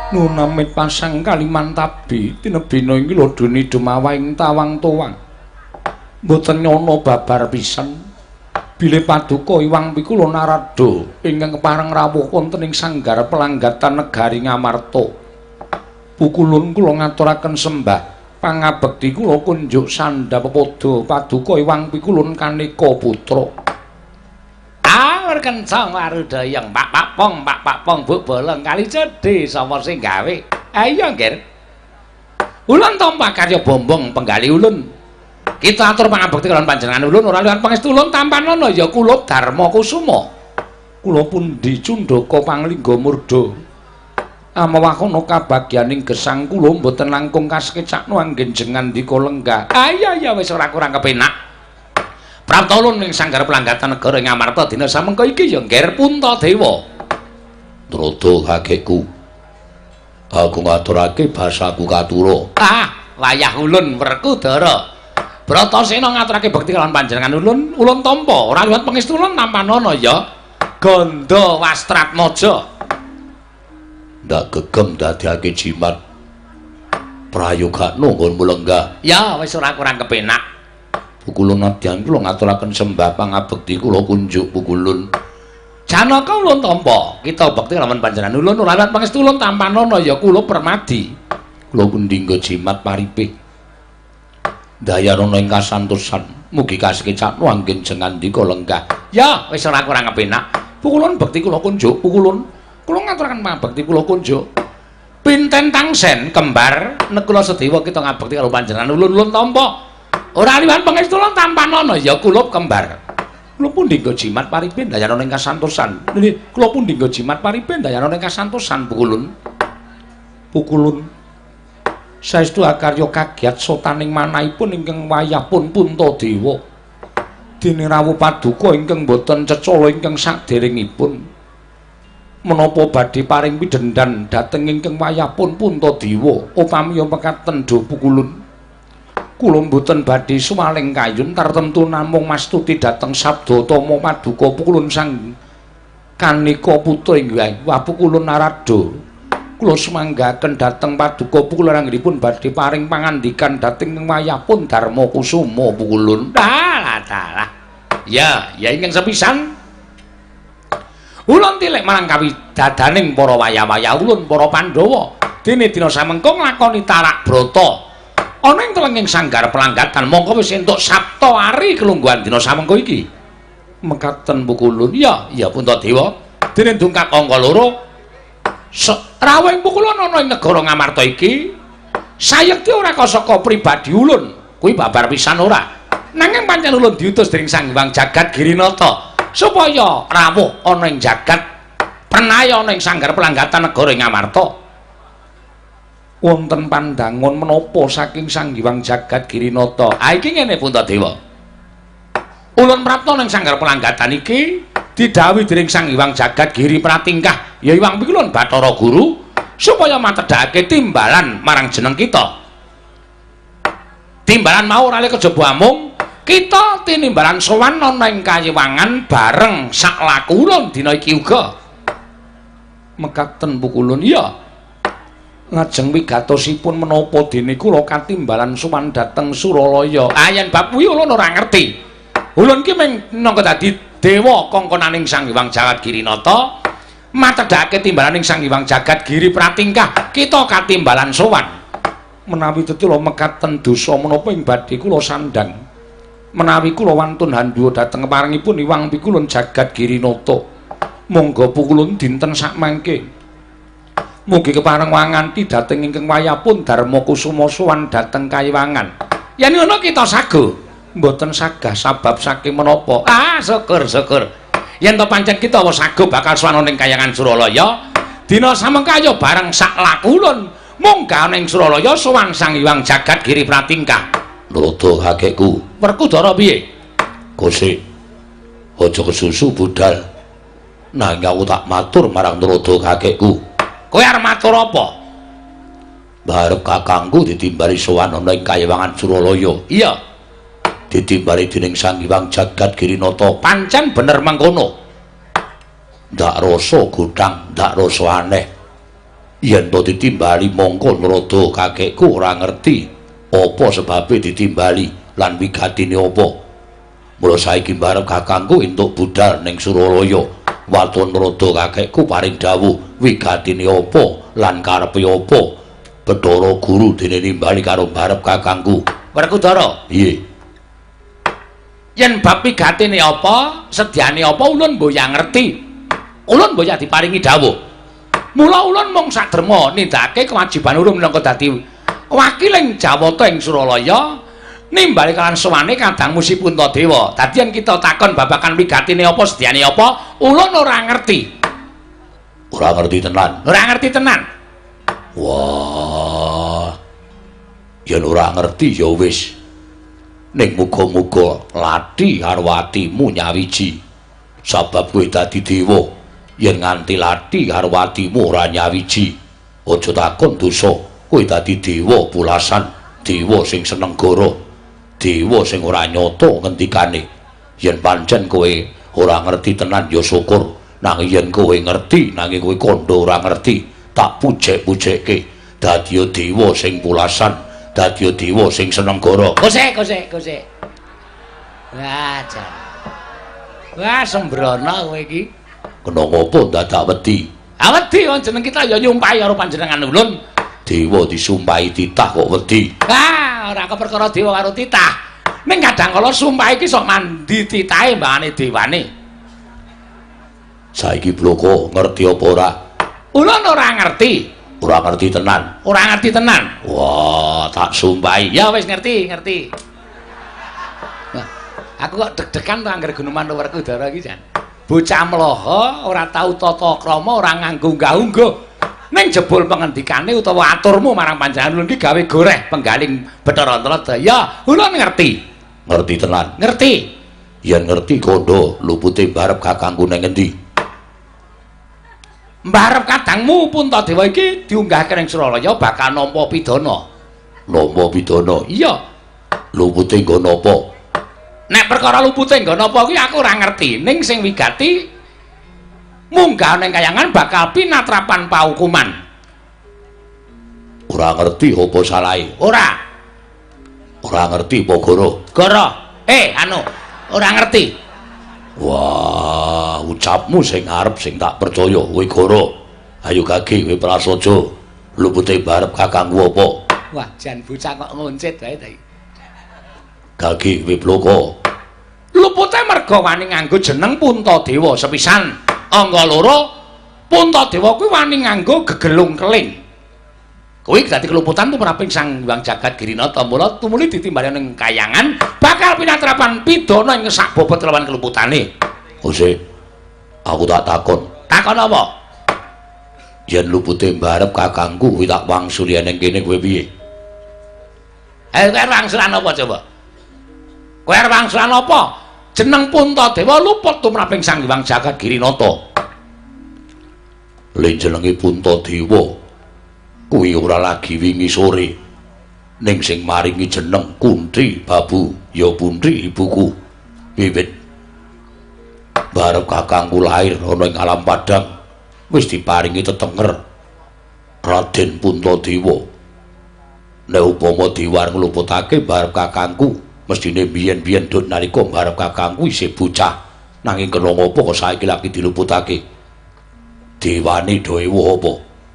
Nunamit pasang Kalimantabi tinebina iki lho duni dumawaing tawang towang. Mboten nyono babar pisan. Bilih paduka Iwang Pikula Narada ingkang kepareng rawuh wonten ing sanggar pelanggatan negari Ngamarta. Pukulun kula ngaturaken sembah pangabekti kula kunjuk sandhapada paduka Iwang Pikulun Kaneka Putra. Kencang warudayang Pak Pong Bu Bolong kali cedhi sapa sing gawe? Ayo nggih. Ulun tampa karya bombong penggali ulun. Kita atur pangabekti kaliyan panjenengan ulun ora liwat pangestu ulun tampanana ya kula Darma Kusuma. Kula pundi Cundaka Panglingga Murda. Amawakono kabagyaning gesang kula mboten langkung kasekecakno anggen jengan dika lenggah. Ayo ya wis ora kurang kepenak. Prapta ulun ing sanggar pelanggatan negara Ngamarta dina samengko iki ya ngger Puntadewa. Narada kakekku. Aku ngaturake basaku katura. Wayah ulun Werkudara. Bratasena ngaturake bekti kalawan panjenengan ulun tampa ora liwat pangestu ulun nampanana ya Ganda Wastratmaja. Ndak gegem dadiake jimat. Prayogano nggonmu lenggah. Ya wis ora kurang kepenak. Pukulun nadyan kula ngaturaken sembah pangabekti kula kunjuk pukulun. Janaka ulun tampa, kita bekti kalawan panjenengan ulun ora liwat pangestu ulun tampanana ya kula Permadi. Kula pundhingga jimat paripe. Dayana ing kasantosan, mugi kasekecakno anggen jengandika lenggah. Ya, wis ora kurang kepenak. Pukulun bekti kula kunjuk, pukulun. Kula ngaturaken pangabekti kula kunjuk. Pinten tangsen kembar nekula sedewa kita ngabekti karo panjenengan ulun tampa. Ora liwat pangestu lan tampanana ya kula kembar. Kula pundhingga jimat paripe dayana ing kasantosan. Nggih, kula pundhingga jimat paripe dayana ing kasantosan pukulun. Pukulun. Saestu akarya kagiat sotaning manahipun ingkang wayahipun Puntadewa. Dene rawuh paduka ingkang boten cecala ingkang saderengipun. Menapa badhe paring pidendhan dhateng ingkang wayahipun Puntadewa upami mekaten do pukulun. Kula mboten badhe sumaling kayun tartemtu namung mastuti dhateng sabda tama paduka pukulun sang Kaneka Putra inggih wah pukulun Narada. Kula sumanggaken dhateng paduka pukulun anggenipun badhe paring pangandikan dhateng wayahipun Darma Kusuma pukulun. Dalah. Ya ingkang sepisan. Ulun tilek marang kawidadaning para wayah-wayah ulun para Pandhawa. Dene dina samengko nglakoni tarak brata. Ana ing telenging sanggar pelanggatan mongko wis entuk Sabta Ari kelungguhan dina samengko iki. Mekaten pukulun. Ya Puntadewa. Dene dungkap angka 2. Rawuhing pukulun ana ing negara Ngamarta iki sayekti ora saka pribadi ulun. Kuwi babar pisan ora. Nanging pancen ulun diutus dening Sang Hyang Jagat Girinata supaya rawuh ana ing jagat pranaya ana ing sanggar pelanggatan negara Ngamarta. Wonten pandangon menapa saking Sang Hyang Jagat Girinata. Iki ngene Puntadewa. Ulun prapta ning sanggar pelanggatan iki didhawuhi dening Sang Hyang Jagat Giri Pratingkah ya Hyang Pikulun Bathara Guru supaya matedhake timbalan marang jeneng kita. Timbalan mau ora kejaba amung kita tinimbalan sowan ana ing kayiwangan bareng sak laku ulun dina iki uga. Mekaten pukulun ya. Ngajeng wigatosipun menapa dene kula katimbalan sowan dhateng Suralaya. Yen bab kuwi ulun ora ngerti. Ulun ki mung minangka dadi dewa kongkonaning Sang Hyang Jagat Girinata, matedhake timbalan ing Sang Hyang Jagat Giri Pratingkah, kita katimbalan sowan. Menawi tetula mekaten dosa menapa ing badhe kula sandhang. Menawi kula wantun handhuwa dhateng paringipun Hyang Pikulun Jagat Girinata. Monggo pukulun dinten sakmangke. Mugi kepareng wanganti dhateng ingkang wayahipun Darma Kusuma sowan dhateng kayiwangan. Yen ngono kita sago, mboten sagah sabab saking menapa. Syukur. Yen to pancen kita wis sago bakal sowan ning kayangan Suralaya, dina samengko bareng sak laku ulun munggah ning Suralaya sowan Sang Hyang Jagat Giri Pratingkah. Narada kakekku, Werkudara piye? Gosik. Aja kesusu budal. Nanging aku tak matur marang Narada kakekku. Kowe arep matur apa? Barep kakangku ditimbali sowan ana ing kayiwangan Suralaya. Iya. Ditimbali dening Sang Hyang Jagat Girinata. Pancen bener mangkono. Ndak rasa godhang, ndak rasa aneh. yen to ditimbali mongko Narada kakekku ora ngerti apa sebabe ditimbali lan wigatine apa. Mula saiki mbarep kakangku entuk budal ning Suralaya. Waton Narada kakekku paring dawuh wigatine apa lan karepe apa. Bathara Guru dene nimbali karo mbarep kakangku. Werkudara, piye? Yen bab wigatine apa, sedyane apa ulun mboya ngerti. Ulun mboya diparingi dawuh. Mula ulun mung sadrema nindakake kewajiban urung minangka dadi wakiling Jawata ing Suralaya nimbali kalan sowane Kadang Musi Puntadewa. Dadi yen kita takon babakan wigatine apa, sedyane apa, ulun ora ngerti. Ora ngerti tenan. Ora ngerti tenan. Wah. Yen ora ngerti ya wis. Ning muga-muga lathi karo atimu nyawiji. Sabab kowe dadi dewa. Yen nganti lathi karo atimu ora nyawiji, aja takon dosa. Kowe dadi dewa pulasan, dewa sing seneng goro, dewa sing ora nyata ngendikane. Yen pancen kowe ora ngerti tenan ya syukur. Nanging yen kowe ngerti, nanging kowe kandha ora ngerti, tak pujek-pujekke dadi dewa sing pulasan, dadi dewa sing seneng goro. Kosek. Wah, jan. Wah, sembrono kowe iki. Kena ngopo dadak wedi? Ah wedi wong jeneng kita ya nyumpahi karo panjenengan ulun. Dewa disumpahi titah kok wedi. Ah, ora keperkara dewa karo titah. Ning kadang kala sumpah iki sok mandi titahe mbane dewane. Saiki bloko ngerti apa ora? Ulun ora ngerti. Ora ngerti tenan. Ora ngerti tenan. Wah, tak sumpahi. Ya wis ngerti. Nah, aku kok deg-degan to anggere Gunuman Werkudara iki jan. Bocah mloho ora tau tata krama, ora nganggo unggah-ungguh. Ning jebul pengendikane utawa aturmu marang panjenengan ulun iki gawe goreh penggaling Bathara Antaradaya. Ulun ngerti. Ngerti tenan. Ngerti. Yen ngerti kandha lupute mbarep kakangku ning endi? Mbarep kadangmu Puntadewa iki diunggahke ning Suralaya bakal nampa pidana. Nampa pidana? Iya. Lupute nggo napa? Nek perkara lupute nggo napa kuwi aku ora ngerti. Ning sing wigati munggah ning kayangan bakal pinatrapan paukuman. Ora ngerti apa salahe? Ora. Ora ngerti apa Goro? Goro. Ora ngerti. Wah, ucapmu sing arep sing tak percaya kowe Goro. Ayo Gage kowe prasaja. Lupute barep kakangku apa? Wah, jan bocah kok ngoncit wae ta iki. Gage kowe bloko. Lupute merga wani nganggo jeneng Puntadewa sepisan. Angga loro Puntadewa kuwi wani nganggo gegelung keling. Kuwi dadi keluputan tumraping Sang Hyang Jagat Girinata. Mula tumuli ditimbali ning kayangan bakal pinatrapan pidana ing sak bobot lawan keluputane. Ose, aku tak takon. Takon apa? Yen lupute mbarep kakangku kuwi tak wangsuli ning kene kowe piye? Kowe wangsulan apa coba? Kowe arep wangsulan apa? Jeneng Puntadewa luput tumraping Sang Hyang Jagat Girinata. Len jenenge Puntadewa kuwi ora lagi wingi sore ning sing maringi jeneng Kuntri Babu ya Puntri ibuku. Wiwit barep kakangku lair ana ing alam padang wis diparingi tetenger Raden Puntadewa. Nek upama diwar ngluputake barep kakangku mestine biyen-biyen dut nalika barep kakangku isih bocah nanging kena ngopo kok saiki lagi diluputake. Dewane dewa apa?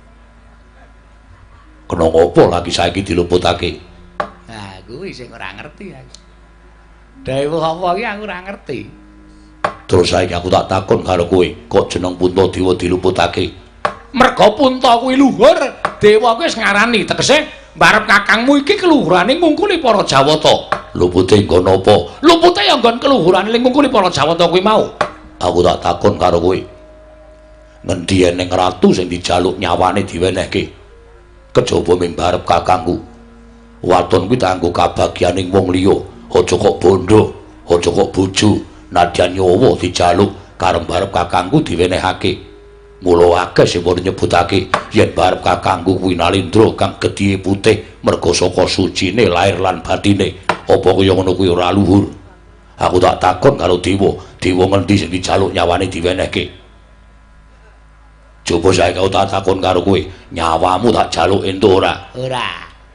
Kena ngopo lagi saiki diluputake? Nah, kuwi sing ora ngerti aku. Dewa apa iki aku ora ngerti. Terus saiki aku tak takon karo kowe, kok jeneng Puntadewa diluputake? Merga Punta kuwi luhur, dewa kuwi wis ngarani tegese mbarep kakangmu iki keluhurane ngungkuli para Jawata. Lupute nggo napa? Lupute ya nggon keluhurane ning ngungkuli para Jawata kuwi mau. Aku tak takon karo kowe. Ngendi eneng ratu sing dijaluk nyawane diwenehke? Kejaba ming mbarep kakangku. Waton kuwi kanggo kabagyaning wong liya, aja kok bondo, aja kok bojo, nadyan nyawa dijaluk karep mbarep kakangku diwenehake. Mula akeh sing nyebutake yen mbarep kakangku kuwi Nalendra kang gedhe putih merga saka sucine lair lan batine. Apa kaya ngono kuwi ora luhur? Aku tak takon karo dewa, dewa ngendi sing dijaluk nyawane diwenehke? Coba saiki kau tak takon karo kowe, nyawamu tak jaluk entuk ora? Ora.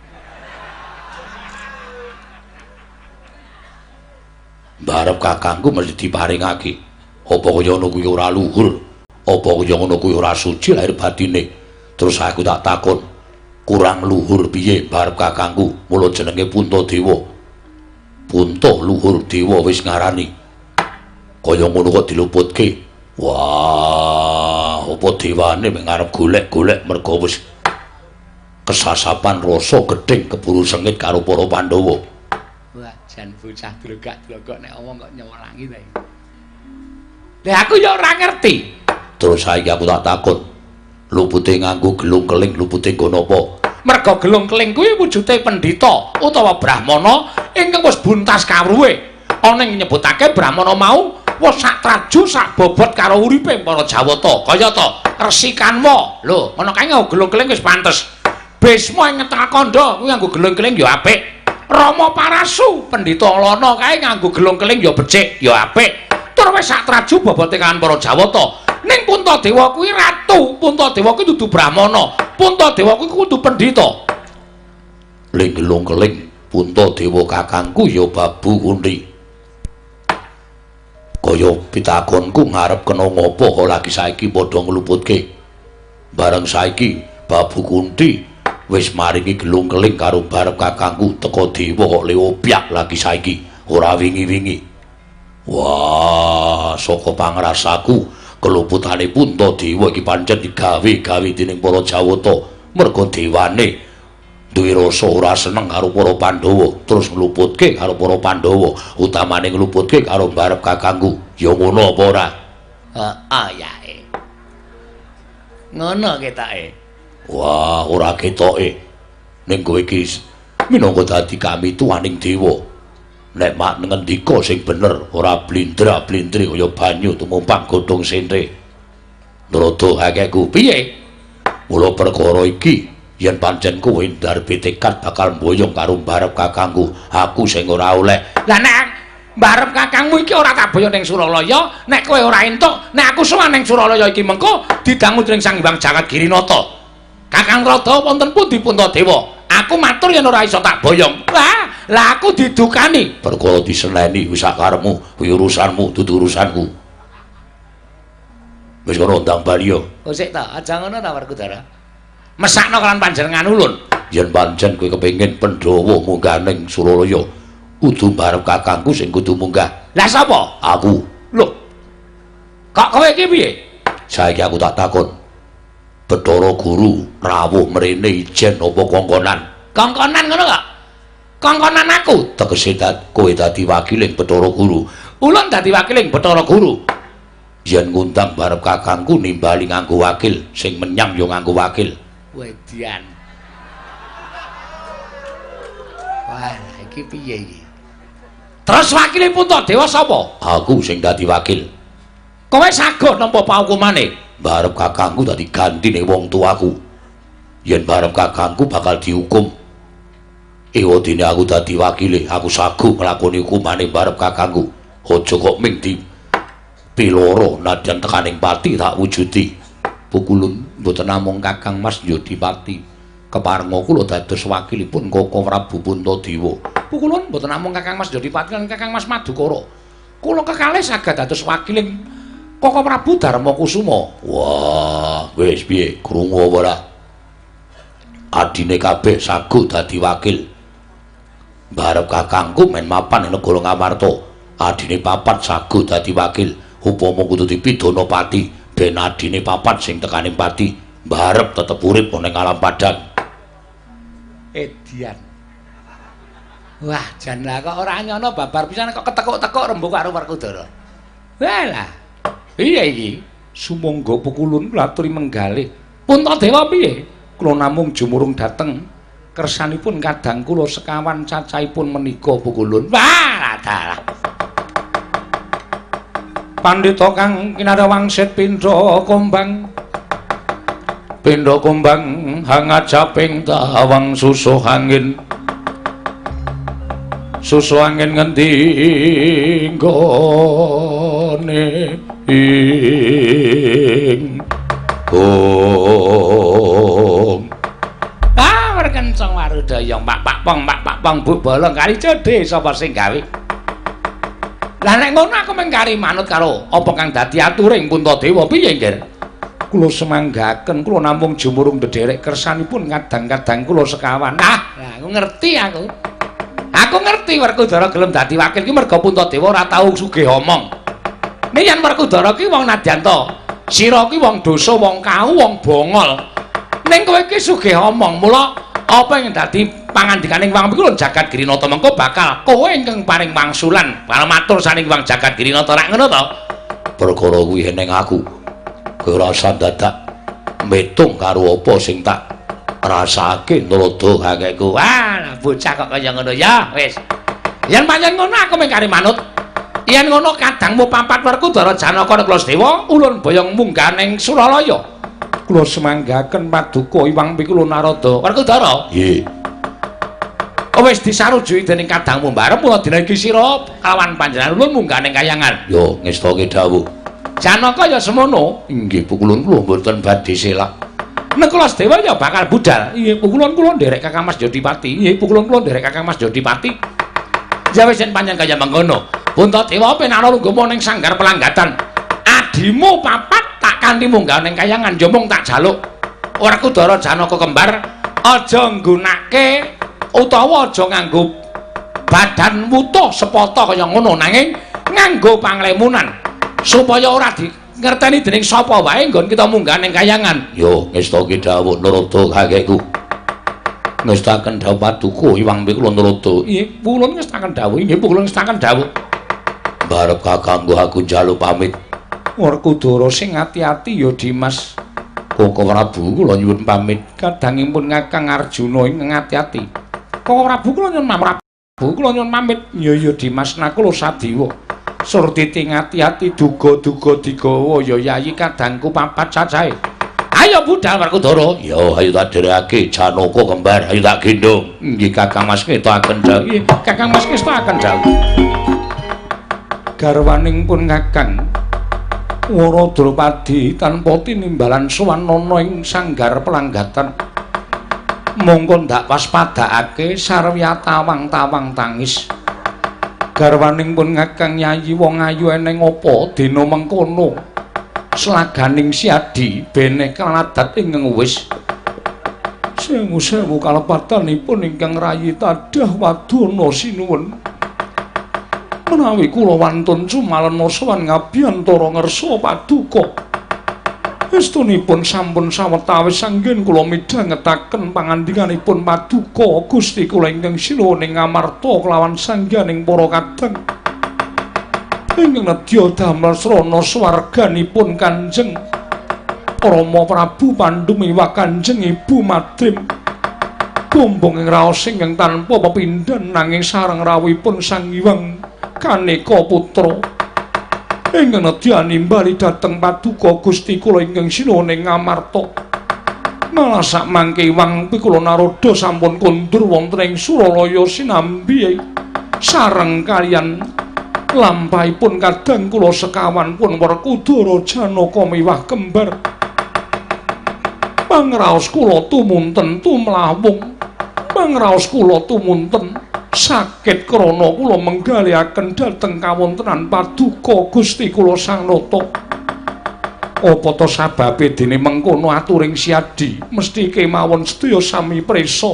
Barep kakangku mesti diparingake. Apa kaya ngono kuwi ora luhur? Apa kaya ngono kuwi ora suci lahir batine? Terus aku tak takon, kurang luhur piye barep kakangku? Mula jenenge Puntadewa. Punta luhur dewa wis ngarani. Kaya ngono kok diluputke. Wah, apa dewane mek ngarep golek-golek mergo wis kesasapan rasa gedeng keburu sengit karo para Pandhawa. Wah, jan bocah drogak-drogok nek omong kok nyewelangi ta. Lah aku ya ora ngerti. Terus saiki aku tak takon, lupute nganggo gelung keling lupute nggo napa? Merga gelung keling kuwi wujude pendhita utawa brahmana ingkang wis buntas kawruhe. Ana ing nyebutake brahmana mau wis sak traju sak bobot karo uripe para Jawata. Kaya ta Resikanma. Lho, ngono kae nganggo gelung keling wis pantes. Bisma ing Ngetengah Kandha kuwi nganggo gelung keling ya apik. Rama Parasu pendhita Lana kae nganggo gelung keling ya becik, ya apik. Tur wis sak traju bobote kan para Jawata. Ning Puntadewa kuwi ratu, Puntadewa kuwi dudu brahmana, Puntadewa kuwi kudu pendhita. Ling gelung keling Puntadewa kakangku ya babu kundi. Kaya pitakonku ngarep kena ngopo kok lagi saiki padha ngluputke. Bareng saiki babu kunti wis maringi gelung keling karo barep kakangku teka dewa kok leopyak lagi saiki ora wingi-wingi. Wah, saka pangrasaku keluputane Puntadewa iki pancen digawe-gawe dening para Jawata merga dewane duwe rasa ora seneng karo para Pandhawa terus ngluputke karo para Pandhawa utamane ngluputke karo barep kakangku. Ya ngono apa ora? Heeh yae. Ngono ketoke. Wah, ora ketoke. Ning kowe iki minangka dadi kami tuaning dewa. Nek mak ngendika sing bener, ora blindra-blindri kaya banyu tumumpang godhong sentre. Nrada akehku piye? Mula perkara iki yen pancen kowe ndarep tekad bakal mboyong karo barep kakangku, aku sing ora oleh. Lah nek barep kakangmu iki ora tak boyo ning Suralaya, nek kowe ora entuk, nek aku sowan ning Suralaya iki mengko didangu dening Sang Hyang Jagat Girinata. Kakang Rada wonten pundi Puntadewa? Aku matur yen ora iso tak boyong. Lah aku didukani. Perkara diseneni wis sak karepmu, kuwi urusanmu dudu urusanku. Wis kono ndang bali yo. Oh sik ta, aja ngono ta Werkudara. Mesakno kan panjenengan ulun. Yen pancen kowe kepengin Pandhawa munggah ning Suralaya, kudu barep kakangku sing kudu munggah. Lah sapa? Aku. Lho. Kok kowe iki piye? Saiki aku tak takon. Bathara Guru rawuh mrene ijen apa kongkonan? Kongkonan ngono kok. Kongkonan aku tegese kowe dadi wakiling Bathara Guru. Ulun dadi wakiling Bathara Guru. Yen ngundang barep kakangku nimbali nganggo wakil, sing menyang ya nganggo wakil. Wedian. Wah, iki piye iki? Terus wakile Puntadewa sapa? Aku sing dadi wakil. Kowe sago nampa paukumane? Barep kakangku dadi gantine wong tuaku. Yen barep kakangku bakal dihukum, ewadene aku dadi wakile, aku sago nglakoni hukumane barep kakangku. Aja kok ming di piloro nadyan tekaning pati tak wujudi. Pukulun mboten namung Kakang Mas Yodipati keparenga kula dados wakilipun Koko Prabu Puntadewa. Pukulun mboten namung Kakang Mas Yodipati lan Kakang Mas Madukara. Kula kekalih saged dados wakiling Koko Prabu Darmakusuma. Wah, wis piye krungu apa ora? Adine kabeh sago dadi wakil. Barep kakangku men mapan ing negara Ngamarta. Adine papat sago dadi wakil. Upama kudu dipidana pati, ben adine papat sing tekaning pati, barep tetep urip ning alam padang. Edian. Wah, jan lah kok ora nyono babar pisan kok ketekuk-tekuk rembug karo Werkudara. Walah. Iya iki, sumangga pukulun kula aturi menggalih. Puntadewa piye? Kula namung jumurung dateng kersanipun kadang kula sekawan cacahipun menika pukulun. Wah, dalah. Pandhita kang kinara wangsit pindha kumbang. Pindha kumbang hangajaping tawang susuh angin. Susuh angin ngendi nggone ing Merkencong warudaya pak pong bu bolong kali cedhe sapa sing gawe. Lah nek ngono aku mung kari manut karo apa kang dadi aturing Puntadewa piye nggih? Kula semanggaken kula namung jumurung ndederek kersanipun kadang-kadang kula sekawan. Aku ngerti aku. Aku ngerti Werkudara gelem dadi wakil ki merga Puntadewa ora tau sugih omong. Nek yen Werkudara ki wong nadyanto, sira ki wong dosa, wong kau, wong bongol. Ning kowe ki sugih omong, mula apa yang dadi pangandikaning Wang Pikulun Jagat Girinata mengko bakal kowe ingkang paring wangsulan para matur saning Wang Jagat Girinata rak ngono to. Perkara kuwi ning aku ora usah dadak metung karo apa sing tak rasake nrada kakeku. Lah bocah kok kaya ngono ya wis. Yen pancen ngono aku mung kari manut. Yen ngono kadangmu papat Werkudara Janaka nek Klasdewa ulun boyong munggah ning Suralaya. Kula semanggaken paduka Iwang Pikulun Narada. Werkudara? Nggih. Wis disarujuki dening kadangmu mbarep mula dina iki sira kawan panjenengan ulun munggah ning Kahyangan. Yo ngestake dawuh. Janaka ya semono. Inggih Pukulun kula mboten badhe selak. Nek Klasdewa ya bakal budal. Nggih Pukulun kula nderek Kakang Mas Jodipati. Nggih Pukulun kula nderek Kakang Mas Jodipati. Ya wis yen pancen kaya mengkono. Puntadewa penara lungguh ning sanggar pelanggatan. Adimu papat tak kanthi munggah ning Kahyangan yo mung tak jaluk Werkudara Janaka kembar aja nggunake utawa aja nganggo badan wutuh sepata kaya ngono nanging nganggo panglemunan supaya ora dingerteni dening sapa wae nggon kita munggah ning Kahyangan. Yo ngestake dawuh Narada kakekku. Ngestaken dawuh paduka Iwang Pikulun Narada. Nggih, kula ngestaken dawuh. Nggih, kula ngestaken dawuh. Barep kakangku aku njaluk pamit. Werkudara sing ati-ati ya Dimas. Koko Prabu kula nyuwun pamit. Kadangipun Kakang Arjuna ing ati-ati. Koko Prabu kula nyuwun pamit. Ya Dimas nakula Sadiwa. Surtiti ngati-ati duga-duga digawa ya yayi kadangku papat cacahe. Ayo budal Werkudara. Ya ayo tak dherekake Janaka kembar. Ayo tak gendong. Nggih Kakang Mas ngetokaken dawuh. Nggih Kakang Mas ngetokaken dawuh. Garwaning pun Kakang Wara Drupadi tanpa tinimbalan sowanana ing sanggar pelanggatan. Mongko ndak waspadakake sarwi tawang-tawang tangis. Garwaning pun Kakang Yayi wong ayu eneng apa dina mengkono. Slaganing siadi bene kaladat ingkang wis. Sewu kalepatanipun ingkang rayi tadah wadana sinuwun. Menawi kula wantun sumalena sowan ngabiyantara ngersa paduka. Estunipun sampun sawetawis anggen kula midhangetaken pangandikanipun paduka Gusti kula ingkang sinuwun ing Ngamarta kelawan sangganing para kadang. Ingkang nedya damel srana swarganipun Kanjeng Rama Prabu Pandhu miwah Kanjeng Ibu Madrim. Bumbung ing raos ingkang tanpa pepindhan nanging sareng rawuhipun Sang Hyang Kaneka Putra ingkang nedya nimbali dhateng paduka Gusti kula ingkang sinuwun ing Ngamarta. Malah sak mangke Iwang Pikulun Narada sampun kondur wonten ing Suralaya sinambi sareng kaliyan lampahipun kadang kula sekawan pun Werkudara Janaka miwah kembar. Pangraos kula tumunten tumlawung. Pangraos kula tumunten sakit krana kula menggalihaken dhateng kawontenan paduka Gusti kula Sang Nata. Apa to sababe dene mengkono aturing siadi mesti kemawon sedaya sami prisa.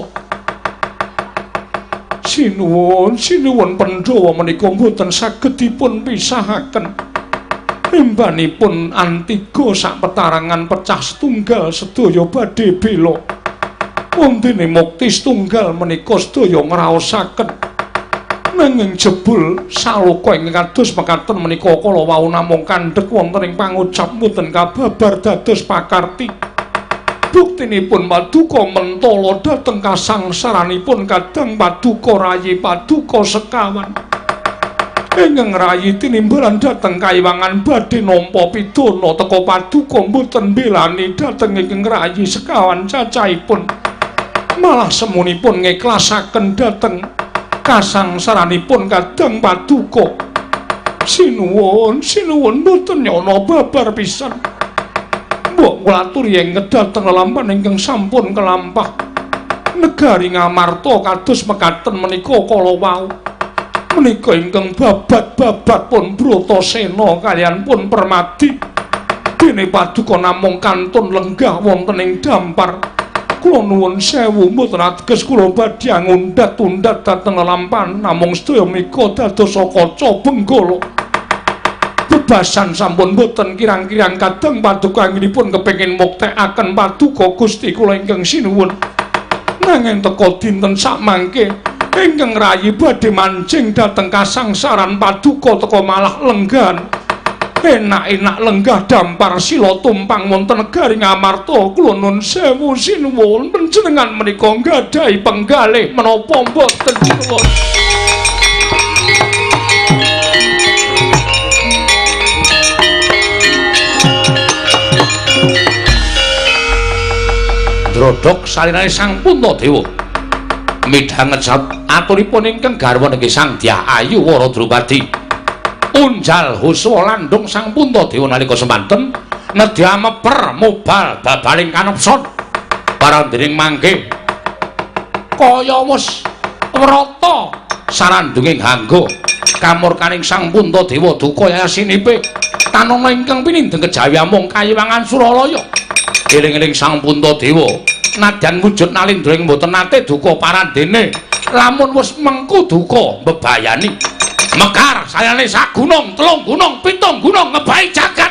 Sinuwun Pandhawa menika mboten saged dipun pisahaken. Embanipun Antiga sak petarangan pecah setunggal sedaya badhe bela. Wondene mukti setunggal menika sedaya ngraosaken. Nanging jebul saloka ing kados mekaten menika kala wau namung kandhek wonten ing pangucap mboten kababar dados pakarti. Buktinipun paduka mentala dhateng kasangsaranipun kadang paduka rayi paduka sekawan. Ingkang rayi tinimbalan dhateng kaiwangan badhe nampa pidana teka paduka mboten mbelani dhateng ingkang rayi sekawan cacahipun. Malah semunipun ngiklasaken dhateng kasangsaranipun kadang paduka. Sinuwun mboten nyana babar pisan. Mbok kula aturi ing dhateng lelampahan ingkang sampun kelampah negari Ngamarta kados mekaten menika kala wau. Menika ingkang babat-babat pun Bratasena kaliyan pun Permadi. Dene paduka namung kantun lenggah wonten ing dampar. Kula nuwun sewu mboten ateges kula badhe ngundhat-undhat dhateng lelampahan namung sedaya menika dados kaca benggala. Bebasan sampun boten kirang-kirang kadang paduka anggenipun kepengin muktekaken paduka Gusti kula ingkang sinuwun. Nanging teka dinten samangke ingkang rayi badhe mancing dhateng kasangsaran paduka teka malah lenggan. Enak-enak lenggah dampar sila tumpang wonten negari Ngamarta. Kula nuwun sewu sinuwun panjenengan menika nggadahi penggalih menapa mboten sinuwun. Drodhok salinane Sang Puntadewa midhanget aturipun ingkang garwa nggih Sang Dyah Ayu Wara Drupadi unjal huswa landung Sang Puntadewa nalika semanten nedya meper mobal babaling kanepson parandening mangke kaya wis wrata sarandunging hangga kamurkaning Sang Puntadewa duka yasinipe tanana ingkang pinindeng kejawi amung kayiwangan Suralaya. Eling-eling Sang Puntadewa nadyan wujud nalindra ing mboten nate duka parandene lamun wis mengku duka mbebayani mekar sayane sak gunung telung gunung pitung gunung ngebahi jagat.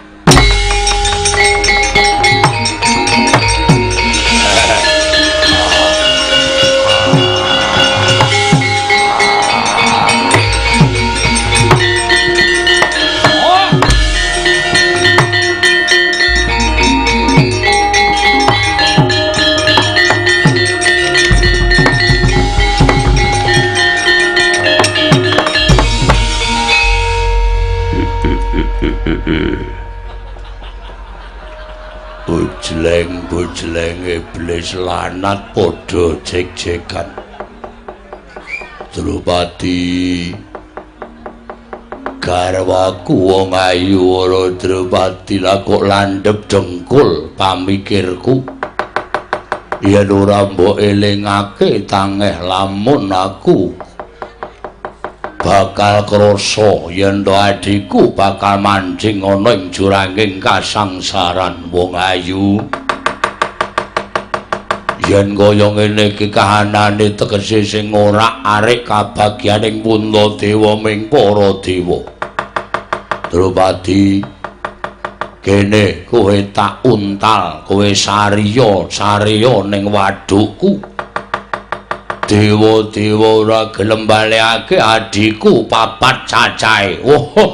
Bujleng iblis lanat padha jek-jekan. Drupadi garwaku wong ayu ora Drupadi lah kok landhep dengkul pamikirku. Yen ora mbok elingake tangeh lamun aku bakal krasa yen to adhiku bakal mancing ana ing juranging kasangsaran wong ayu. Yen kaya ngene iki kahanane tegese sing ora arek kabagyaning Puntadewa ming para dewa. Drupadi kene kowe tak untal, kowe sariya ning wadukku. Dewa-dewa ora gelem balekake adhiku papat cacahe.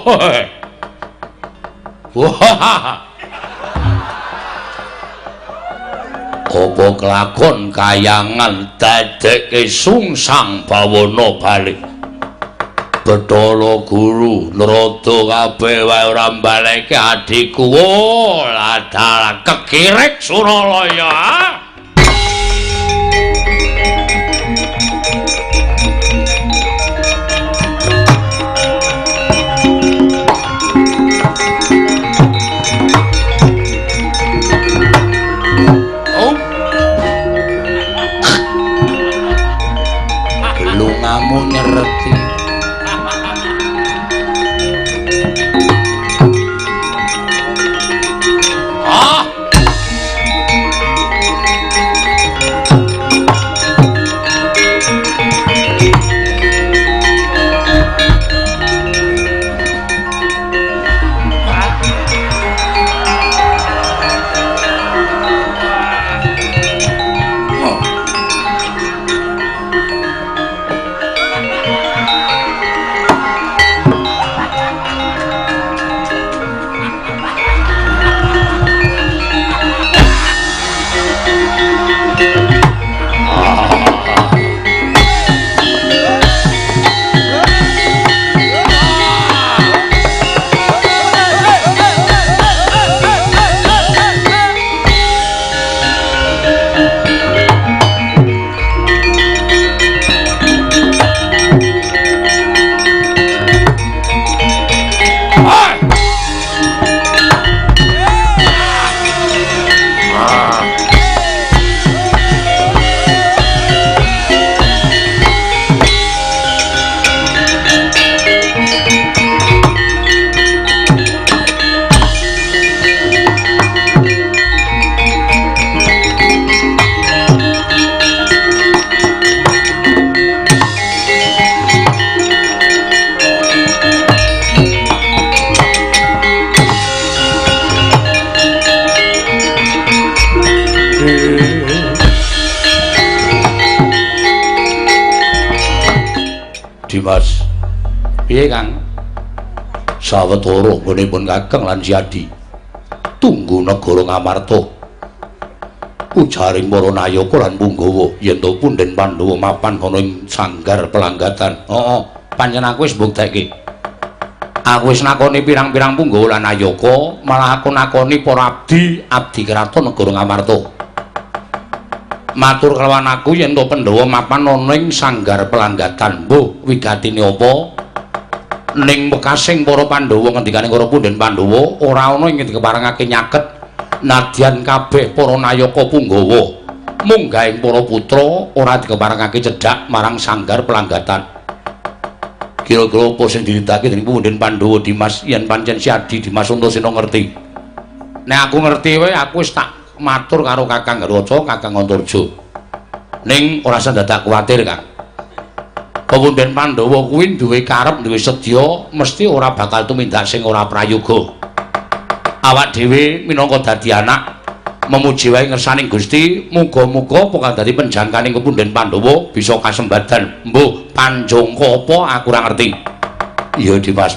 Apa kelakon kayangan dadekke sungsang bawana balik. Bathara Guru Narada kabeh wae ora baleke adhiku. Ladal kekirek Suralaya. Lungamu nyereti Dimas, piye Kang? Sawetara nggonipun Kakang lan Siadi tunggu negara Ngamarta. Ujaring para nayaka lan Punggawa yen to punden Pandhawa mapan ana ing sanggar pelanggatan. Pancen aku wis mbuktekke. Aku wis nakoni pirang-pirang Punggawa lan nayaka, malah aku nakoni para abdi kraton negara Ngamarta. Matur kelawan aku yen to Pandhawa mapan ana ing sanggar pelanggatan. Mbuh, wigatine apa? Ning bekasing para Pandhawa ngendikane karo punden Pandhawa ora ana ing dikeparengake nyaket nadyan kabeh para nayaka Punggawa munggahing para putra ora dikeparengake cedhak marang sanggar pelanggatan. Kira-kira apa sing diritake dening punden Pandhawa Dimas yen pancen Siadi Dimas Antasena ngerti. Nek aku ngerti wae aku wis tak matur karo Kakang Garwaca, Kakang Antarja. Ning ora usah dadak kuwatir, Kang. Pepunden Pandhawa kuwi duwe karep, duwe sedya, mesti ora bakal tumindak sing ora prayoga. Awak dhewe minangka dadi anak memuji wae ngersaning Gusti, muga-muga pokal dadi penjangkaning Pepunden Pandhawa bisa kasembadan. Mbuh, panjangka apa aku ora ngerti. Iya, Dimas.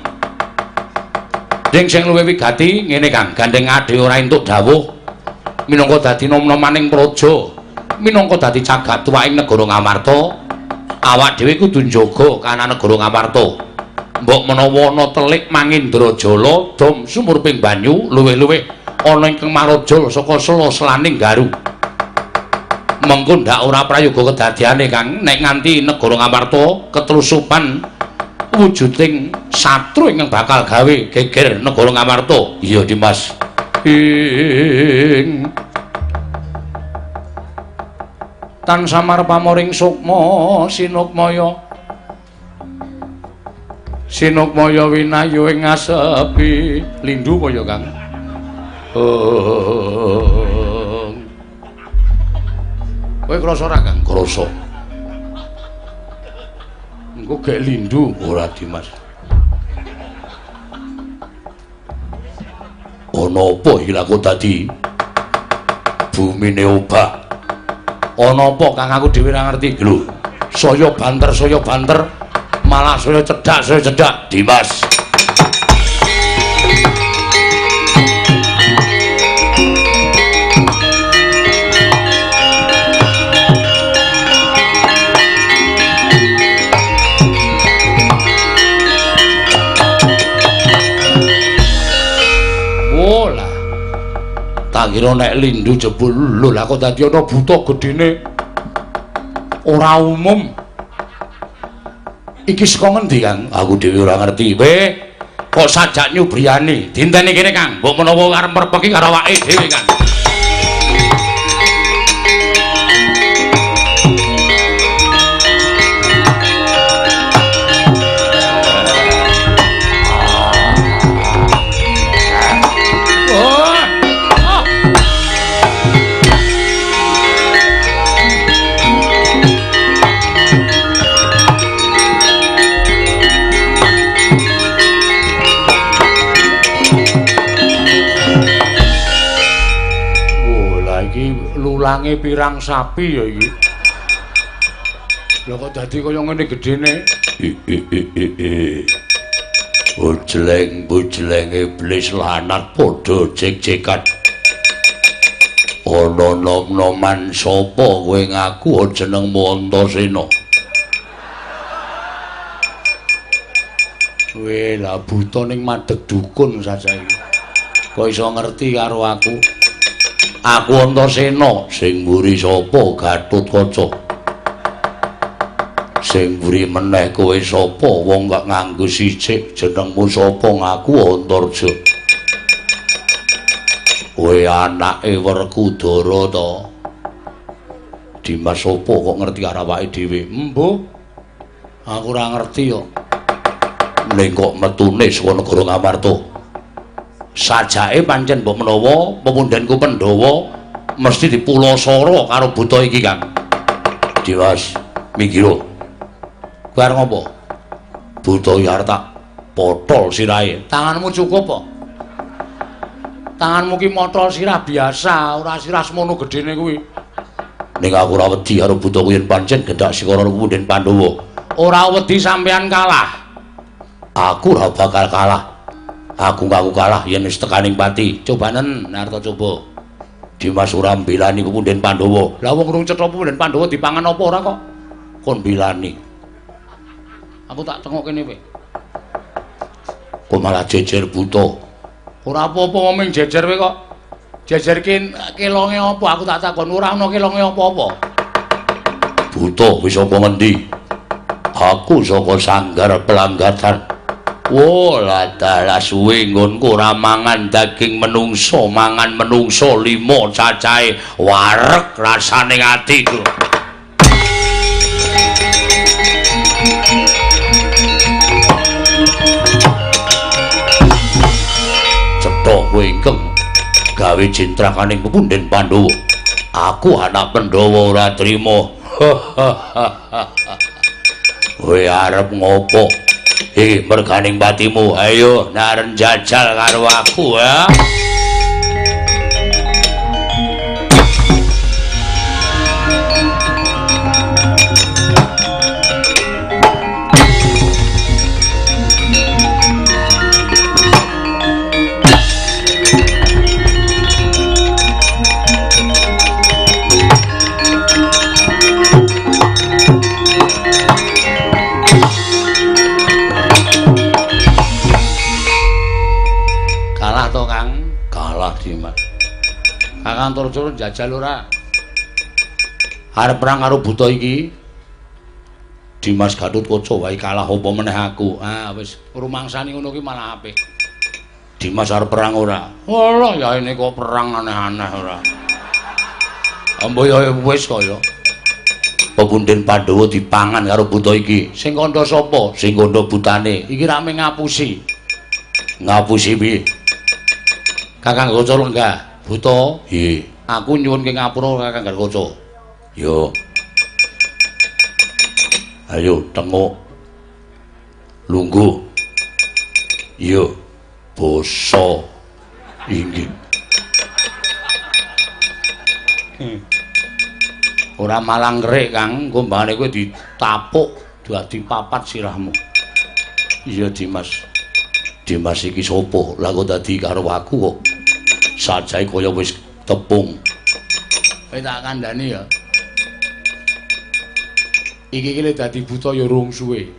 Sing luwih wigati ngene Kang, gandeng ade ora entuk dawuh minangka dadi nom-nomaning praja, minangka dadi jagat tuwaing negara Ngamarta. Awak dhewe kudu njaga kana negara Ngamarta. Mbok menawa ana telik Mangindrajala dom sumurping banyu luwih-luwih ana ingkang marajal saka sela-selaning garu. Mengko ndak ora prayoga kedadiane Kang nek nganti negara Ngamarta ketrusupan wujuding satru ingkang bakal gawe geger negara Ngamarta. Iya Dimas. Tan samar pamoring sukma sinukmaya winayu ing ngasepi lindu apa ya Kang? Kowe krasa ora Kang? Krasa. Engko gek lindu ora Dimas. Ana apa ilaku dadi bumine obah? Ana apa Kang aku dhewe ora ngerti lho. Saya banter malah saya cedak Dimas. Tak kira nek lindu jebul lho lah kok dadi ana buta gedene ora umum. Iki saka ngendi Kang? Aku dhewe ora ngerti. Kok sajak nyubriyane dinteni kene Kang. Mbok menawa arep merpeki karo awake dhewe Kang. Lulange pirang sapi ya iki. Lha kok dadi kaya ngene gedene? Bujleng iblis lanat padha jek-jekan. Ana nom-noman sapa kowe ngaku jenengmu Antasena? Kowe lah buta ning madeg dukun sajae. Kok iso ngerti karo aku? Aku Antasena, sing mburi sapa Gatotkaca. Sing mburi meneh kowe sapa wong gak nganggo sicik jenengmu sapa ngaku Antarja. Kowe anake Werkudara to. Dimas sapa kok ngerti karo awake dhewe? Embuh. Aku ora ngerti kok. Ning kok metune saka negara Ngamarta. Sajake pancen mbok menawa pepundenku Pandhawa mesti dipulasara karo buta iki Kang. Dimas, mikira. Kowe arep ngopo? Buta iki arep tak potol sirahe. Tanganmu cukup apa? Tanganmu ki mata sirah biasa, ora sirah semono gedene kuwi. Ning aku ora wedi karo buta kuwi yen pancen gendak Sikara Punden Pandhawa. Ora wedi sampean kalah. Aku ora bakal kalah. Aku ngaku kalah yen wis tekaning pati. Cobanen Narta coba. Dimas ora mbelani Punden Pandhawa. Lah wong urung cetha Punden Pandhawa dipangan apa ora kok? Kon mbelani. Aku tak tengok kene kowe. Kok malah jejer buta. Ora apa-apa ngomong jejer kowe kok. Jejer kelonge apa? Aku tak takon ora ana kelonge apa-apa. Buta wis apa ngendi? Aku saka Sanggar Pelanggatan. Wala dalah suwe nggonku ora mangan daging menungso, mangan menungso 5 cacahe wareg rasane atiku. Cetok kowe ingkang gawe jintrakaning Punden Pandhawa. Aku anak Pandhawa ora trima. Kowe arep ngopo? Merganing batimu, ayo naren jajal karo aku ya. Kakang tur-tur jajal ora? Arep perang karo buta iki. Dimas Gatotkaca wae kalah apa meneh aku. Ah wis rumangsani ngono ki malah apik. Dimas arep perang ora? Walah ya ini kok perang aneh-aneh ora. Ambo ya wis kaya. Punden Pandhawa dipangan karo buta iki. Sing kandha sapa? Sing kandha butane. Iki rame ngapusi. Ngapusi piye? Kakang Gaca lenggah. Buta, nggih. Aku nyuwun ke ngapura Kakang Gaca. Yo. Ayo tengok. Lungguh. Yo. Basa. Inggih. Ora malang ngrik, Kang. Gombane kowe ditapuk dadi papat sirahmu. Iya, Dimas. Dimas iki sapa? Lah kok dadi karo aku kok. Sajae kaya wis tepung. Kowe tak kandhani ya. Iki ki dadi buta ya rung suwe.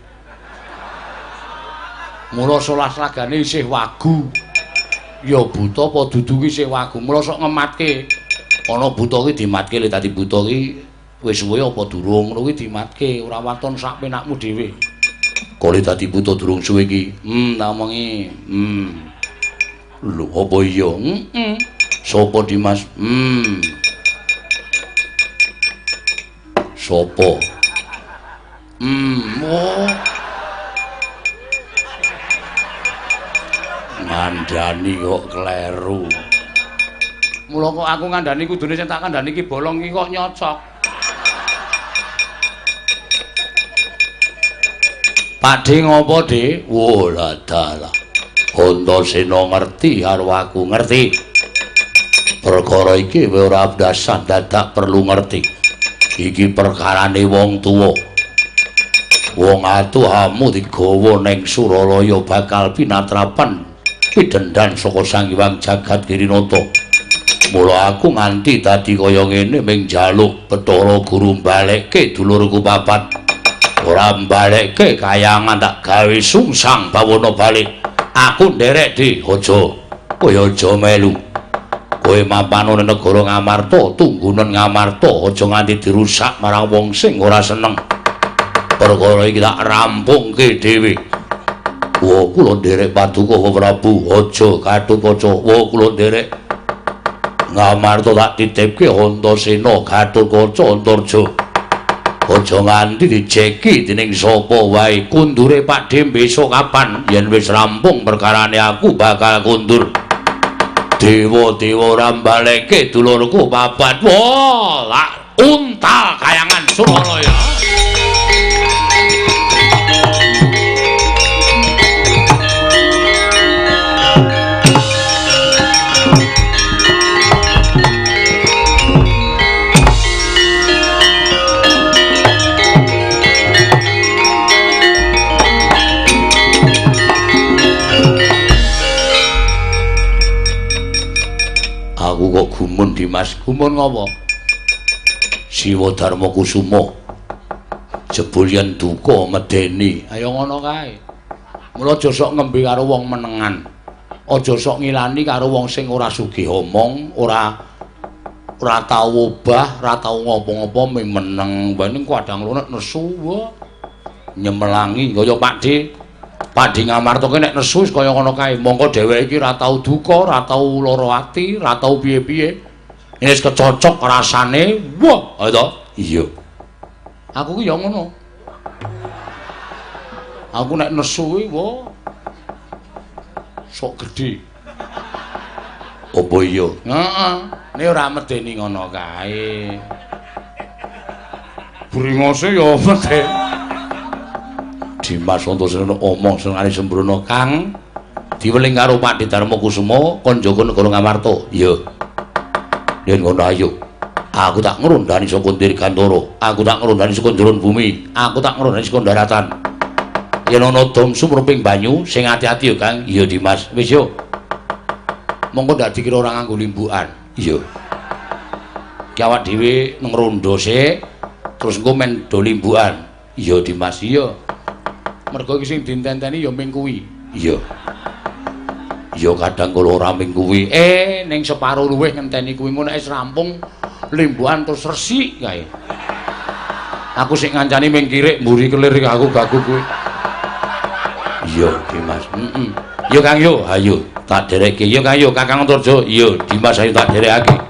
Mula solas lagane isih wagu. Ya buta apa dudu ki isih wagu. Mula sok ngematke. Ana buta ki dimatke le dadi buta ki wis suwe apa durung ngono ki dimatke, ora waton sak penakmu dhewe. Kok le dadi buta durung suwe ki? Tak omongi. Lho apa iya? Sopo Dimas? Sopo? Oh. Ngandani kok kleru. Mula kok aku ngandani kudune sing tak kandhani iki bolong iki kok nyocok. Pakde ngopo, Dik? Wola dalah. Antasena ngerti karo aku ngerti. Perkara iki ora dasar dadak perlu ngerti. Iki perkarane wong tuwa. Wong atuhamu digawa ning Suralaya bakal pinatrapan pidendhan saka Sang Hyang Jagat Girinata. Mula aku nganti dadi kaya ngene ming njaluk Bathara Guru balekke dulurku papat. Ora balekke kayangan tak gawe sungsang bawana balik. Aku nderek di aja. Kowe aja melu. Kowe mapan ana negara Ngamarta, tunggunen Ngamarta aja nganti dirusak marang wong sing ora seneng. Perkara iki tak rampungke dhewe. Wa kula nderek Paduka Prabu, aja Gatotkaca. Wa kula nderek Ngamarta tak titipke Antasena, Gatotkaca, Antarja. Aja nganti dijeki dening sapa wae. Kundure Pakde besok kapan? Yen wis rampung perkarane aku bakal kundur. Dewa-dewa ora mbaleke dulurku papat. Wah, untal kayangan Suralaya. Dimas, gumun ngopo? Siwa Darma Kusuma. Jebul yen duka medeni. Ayo ngono kae. Mula aja sok ngembe karo wong menengan. Aja sok ngilani karo wong sing ora sugih omong, ora tau obah, ora tau ngopo-ngopo ming meneng. Bae ning kadang lunek nesu wae. Nyemelangi kaya Pakde. Pakde Ngamarta ki nek nesu kaya ngono kae. Mongko dheweke iki ora tau duka, ora tau lara ati, ora tau piye-piye. Wis kecocok rasane. Wah, ayo to. Iya. Aku ki ya ngono. Aku nek nesu iki wah. Sok gedhe. Apa iya? Heeh. Nek ora medeni ngono kae. Bringose ya medeni. Dimas Antasena omong senengane sembrono Kang diweling karo Pakde Darma Kusuma Kanjaka Negara Ngamarta. Iya. Yen ngono ayo. Aku tak ngrondani saka Dirgantara, aku tak ngrondani saka njeron bumi, aku tak ngrondani saka daratan. Yen ana dom sumruping banyu sing ati-ati ya Kang. Iya Dimas, wis yo. Monggo ndak dikira ora nganggo limbukan. Iya. Ki awak dhewe ngrondo sik terus engko men do limbukan. Iya Dimas, iya. Mergo iki sing ditenteni ya ming kuwi. Iya. Ya kadang kula ora ming kuwi. Ning separo luwih ngenteni kuwi engko nek wis rampung limbukan terus resik kae. Aku sik ngancani ming kirik mburi kelir aku gagu kuwi. Iya, Dimas. Heeh. Yo Kang yo, ayo tak dereke. Yo Kang yo, Kakang Antarja. Iya, Dimas ayo tak derekake.